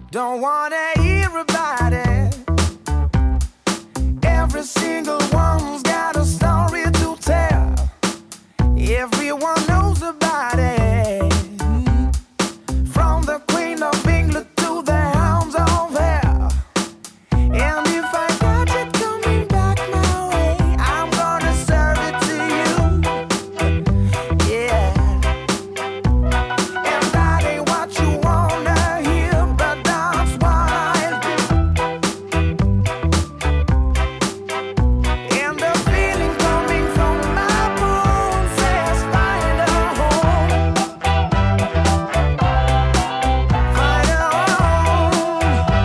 Don't wanna hear about it. Every single one's got a story to tell. Everyone knows about it. From the Queen of England to the hounds of hell. And if I got it coming back my way, I'm gonna serve it to you. Yeah. And that ain't what you wanna hear, but that's what I do. And the feeling coming from my bones says find a home. Find a home.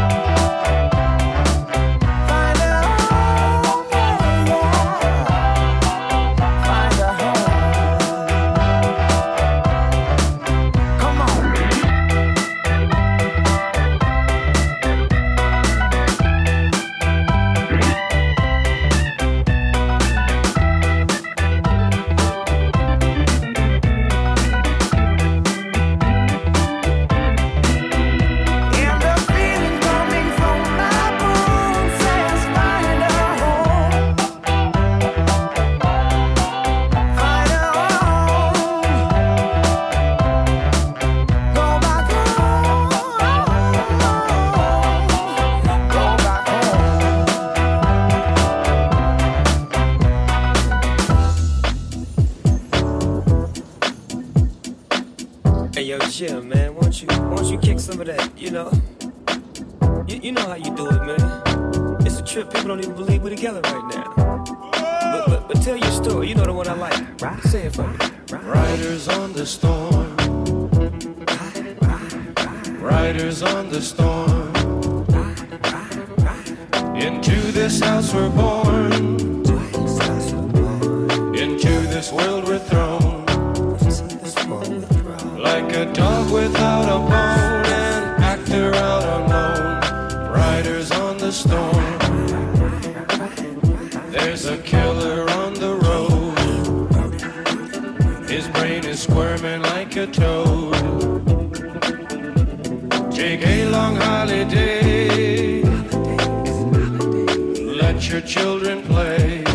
Find a home, yeah, yeah. Find a home. Come on. And the feeling coming from my bones says find a home. Find a home. Go back home. Go back home. Hey yo, Jim, man, won't you kick some of that? You know how you do it, man. It's a trip. People don't even believe we're together right now. But tell your story. You know the one I like. Say it for me. Riders on the storm. Riders on the storm. Into this house we're born. Into this world we're thrown. Like a dog without a bone, an actor out alone. Riders on the storm. There's a killer on the road. His brain is squirming like a toad. Take a long holiday. Let your children play.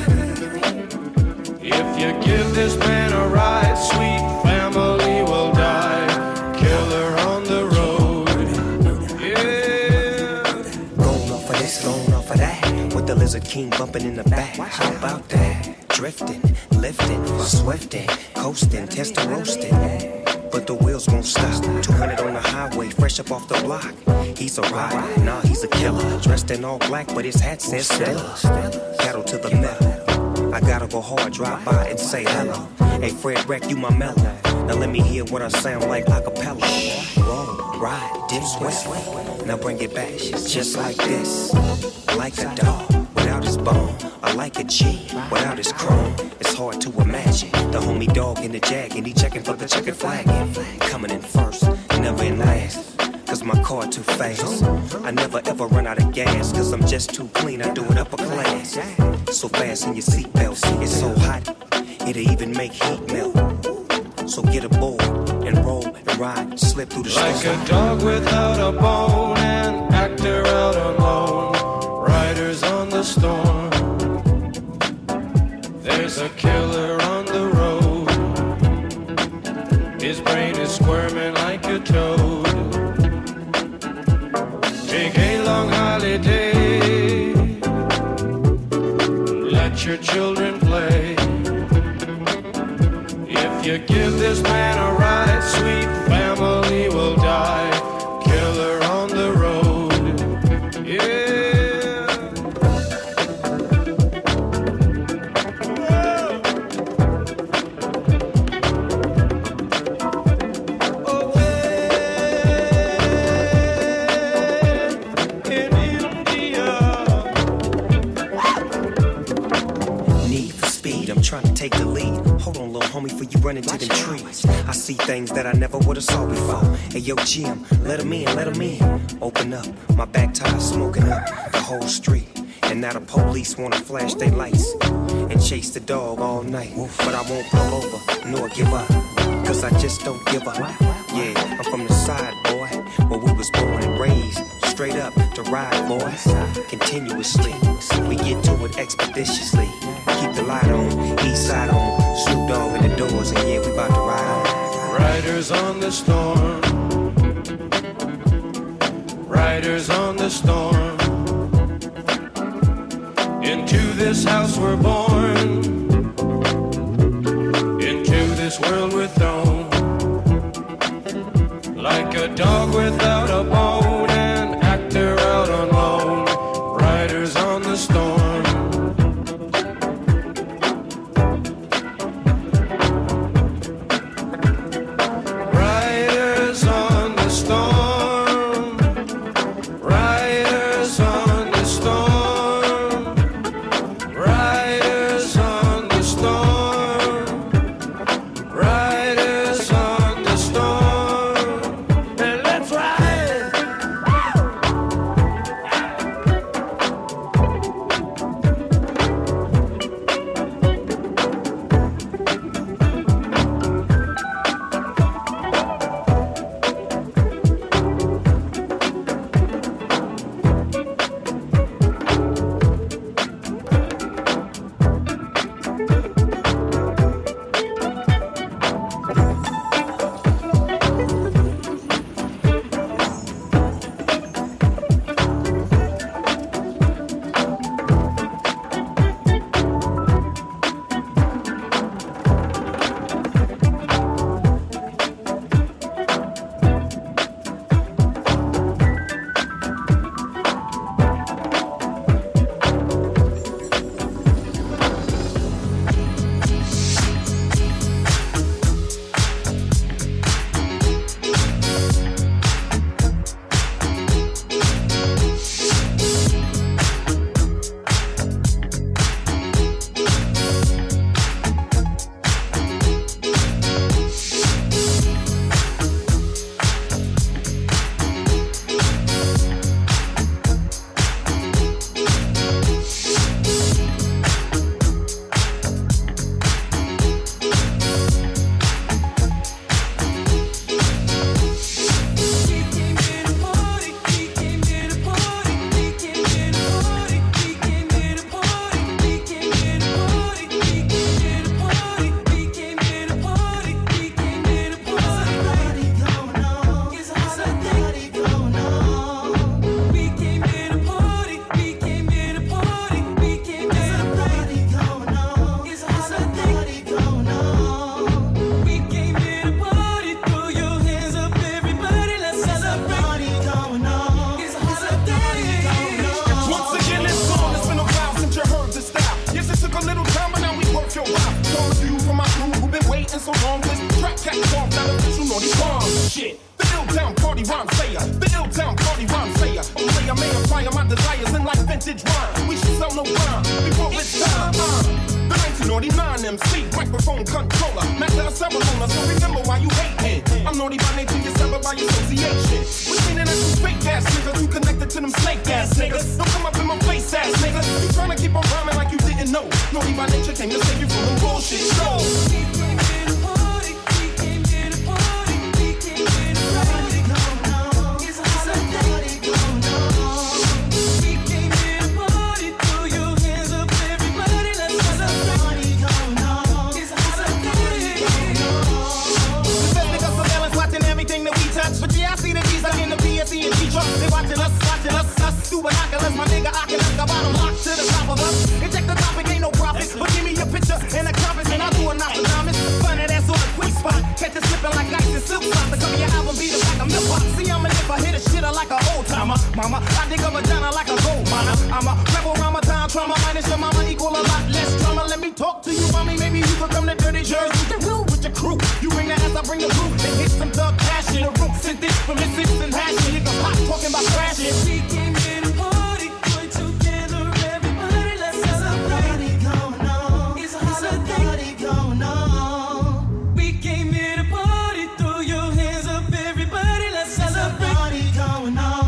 If you give this man a ride, sweet family will die. Killer on the road. Yeah. Going off of this, going off of that. With the Lizard King bumping in the back. How about that? Drifting, lifting, swifting, coasting, testing, roasting. But the wheels won't stop. 200 on the highway, fresh up off the block. He's a rider, nah, he's a killer. Dressed in all black, but his hat says Stella. Pedal to the metal. I gotta go hard, drive by and say hello. Hey, Fred Wreck, you my mellow. Now let me hear what I sound like a cappella. Roll, ride, dip, sweat. Now bring it back, just like this. Like a dog without his bone. I like a G without his chrome. It's hard to imagine the homie dog in the jag and he checking for the checkered flag. Coming in first, never in last. Cause my car too fast. I never ever run out of gas. Cause I'm just too clean, I do it upper class. So fast in your seatbelts, it's so hot, it'll even make heat melt. So get aboard and roll and ride, slip through the Like storm. a dog without a bone, an actor out alone. Riders on the storm. There's a killer on the road. His brain is squirming like a toad. Take a long holiday. Let your children play. If you give this man a ride, sweet family will die. Killer on the road. Yeah. Trying to take the lead. Hold on, little homie, before you run into them trees. I see things that I never would've saw before. Hey, yo, Jim, let him in, let him in. Open up, my back tire smoking up the whole street. And now the police wanna flash their lights and chase the dog all night. But I won't pull over, nor give up, cause I just don't give up. Yeah, I'm from the side, boy, where we was born and raised. straight up to ride, boys. Continuously, we get to it expeditiously. Keep the light on, east side on, Snoop Dogg in the doors, and yeah, we about to ride on. Riders on the storm. Riders on the storm. Into this house we're born. Into this world we're thrown. Like a dog without a bone, an actor out on loan. Riders on the storm. Riders on the storm. Riders on the storm. Riders on the storm. Riders on the storm. And let's ride.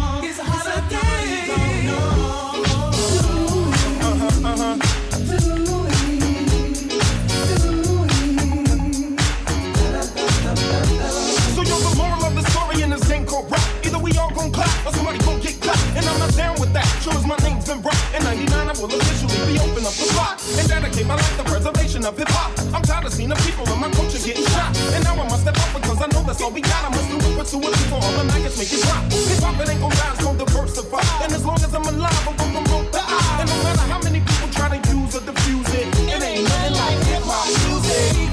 Do save my life, the preservation of hip-hop. I'm tired of seeing the people in my culture getting shot. And now I must step up because I know that's all we got. I must do it, pursue it before all the maggots make it drop. Hip-hop, it ain't gon' die, it's gon' diversify. And as long as I'm alive, I'm gon' promote the eye. And no matter how many people try to use or diffuse it, it ain't nothing like hip-hop music.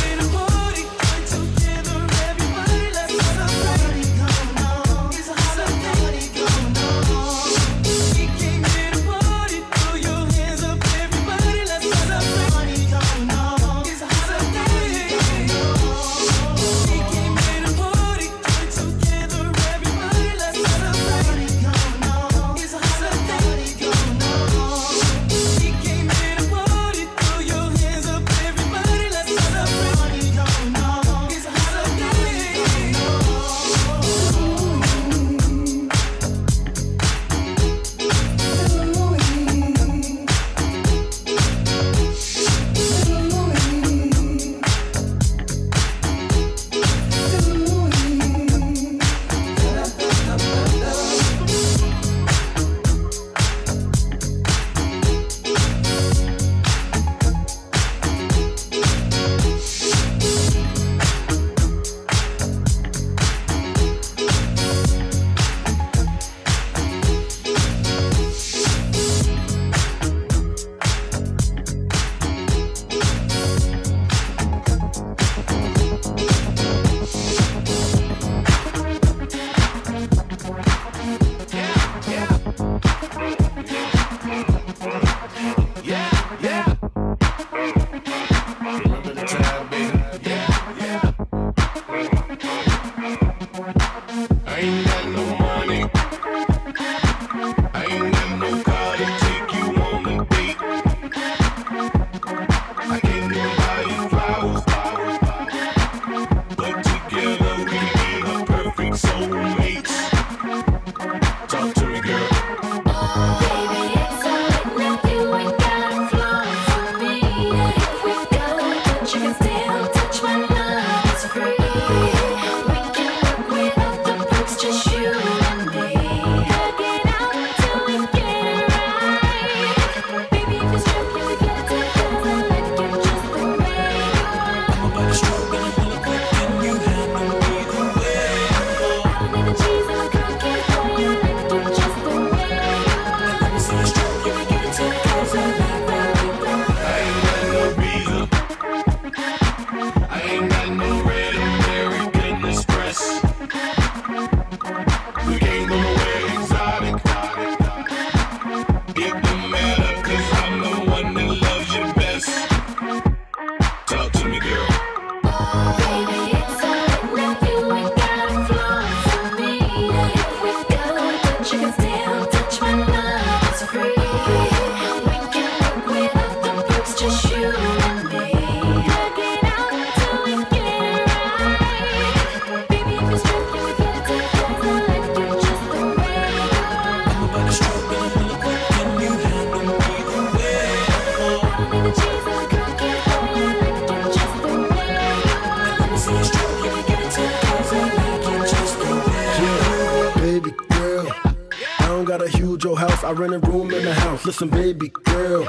I rent a room in the house. Listen, baby girl,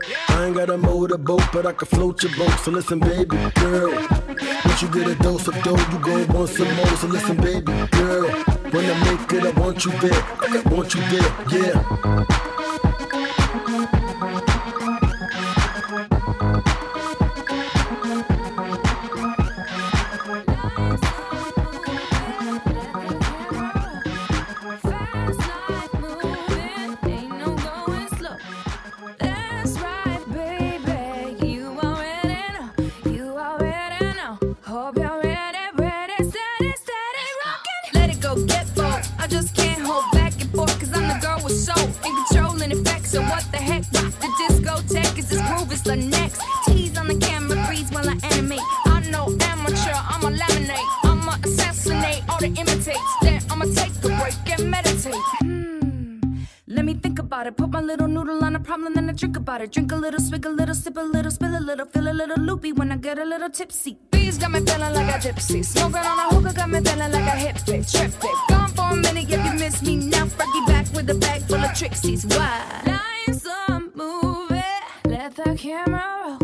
I ain't got a motorboat, but I can float your boat. So listen, baby girl, once you get a dose of dough, you gon' want some more. So listen, baby girl, when I make it, I want you there. I want you there, yeah. Put my little noodle on a problem, then I drink about it. Drink a little, swig a little, sip a little, spill a little, feel a little loopy when I get a little tipsy. Bees got me feeling like a gypsy. Smoking on a hookah got me feeling like a hippie. Trip it, gone for a minute if you miss me now. Fergie back with a bag full of Trixies. Why? Life's a movie, let the camera roll.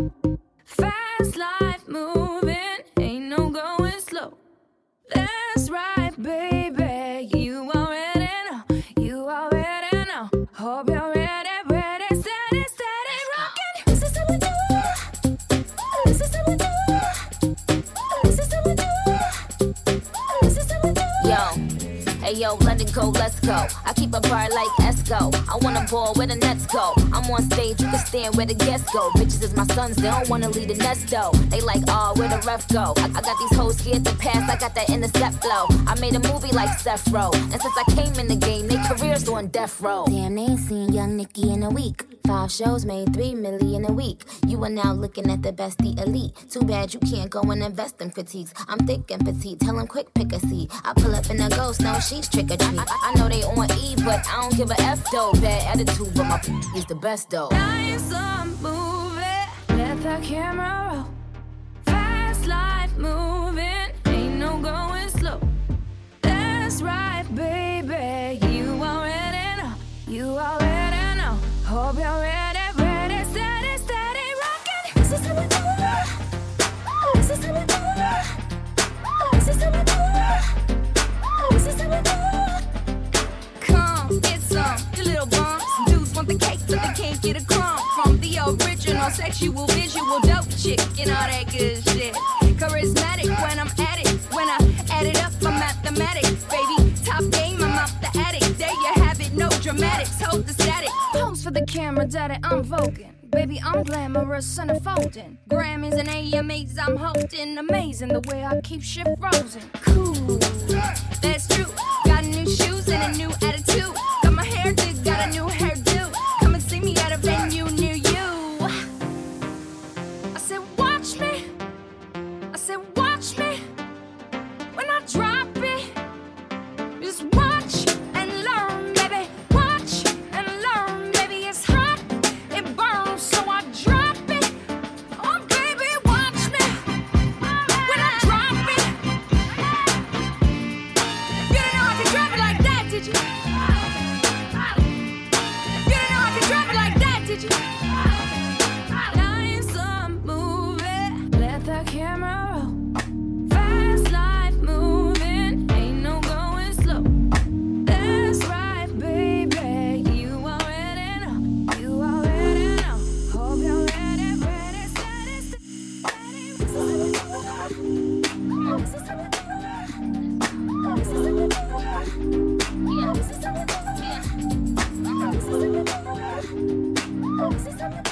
Hey yo, London go, let's go. I keep a bar like Esco. I wanna ball where the nets go. I'm on stage, you can stand where the guests go. Bitches is my sons, they don't wanna leave the nest though. They like, oh, where the ref go? I got these hoes scared to pass, I got that intercept flow. I made a movie like Seth Row, and since I came in the game, they careers on death row. Damn, they ain't seen Young Nicki in a week. 5 shows made 3 million a week. You are now looking at the bestie elite. Too bad you can't go and invest in critiques. I'm thick and petite, tell them quick pick a seat. I pull up in a ghost, no she's trick or treat. I know they on E, but I don't give a F though. Bad attitude, but my is the best though. Life's a movie, let the camera roll. Fast life moving, ain't no going slow. That's right, baby, you already know. You already know. Hope you're ready, ready, steady, steady, rockin'. This is how we do it. This is how we do it. This is how we do it. This is how we do it. Come, get some, you little bums. Dudes want the cake, but they can't get a crumb. From the original, sexual, visual, dope chick, and all that good shit. Charismatic when I'm at it. When I add it up, I'm mathematics, baby. Top game, I'm out the attic. There you have it, no dramatics, hold the static. Pose for the camera, daddy, I'm voguing. Baby, I'm glamorous and unfolding. Grammys and AMAs, I'm holding. Amazing the way I keep shit frozen. Cool, that's true. Got new shoes and a new attitude. Got my hair did, got a new hairdo. Come and see me at a venue near you. I said, watch me. I said, watch me. When I drop it, just watch and learn, baby. Watch and learn, baby. It's hot, it burns, so I drop it. Oh, baby, watch me. When I drop it, you didn't know I could drop it like that, did you? You didn't know I could drop it like that, did you? Life's a movie, let the camera roll. Fast life moving, ain't no going slow. That's right, baby, you already know. You already know. Hope you're ready, ready, steady, steady. This is how we do it. This is how we do it. This is how we do it. Yeah, this is how we do it. Yeah. This is how we do it. This is how we do it. This is how we do it. This is how we do it.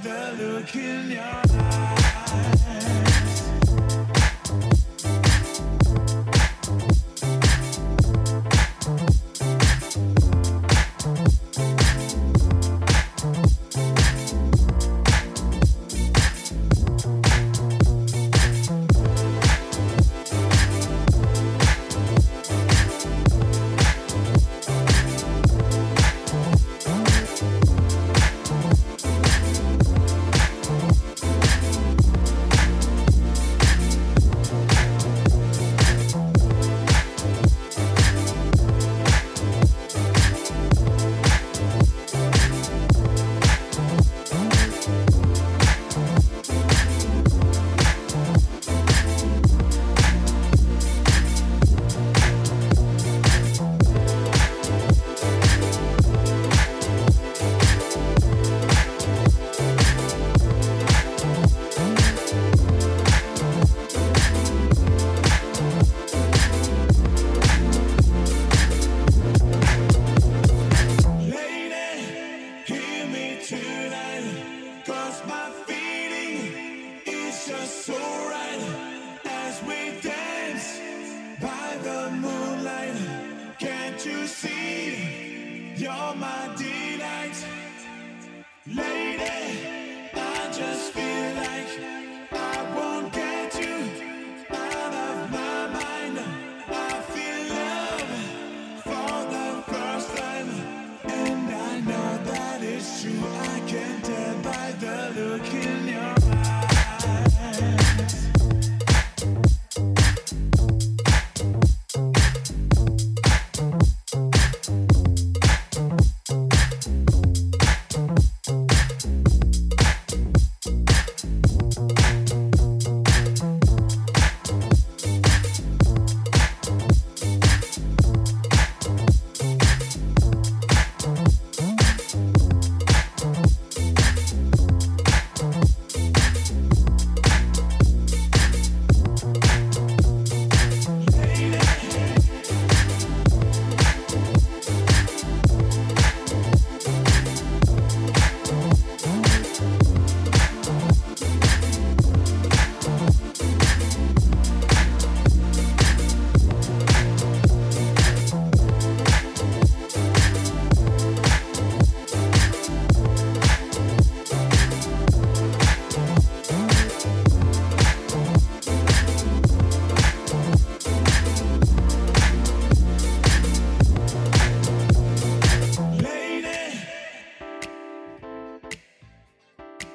the look in your eyes.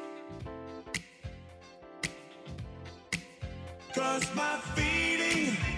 Cause my feeling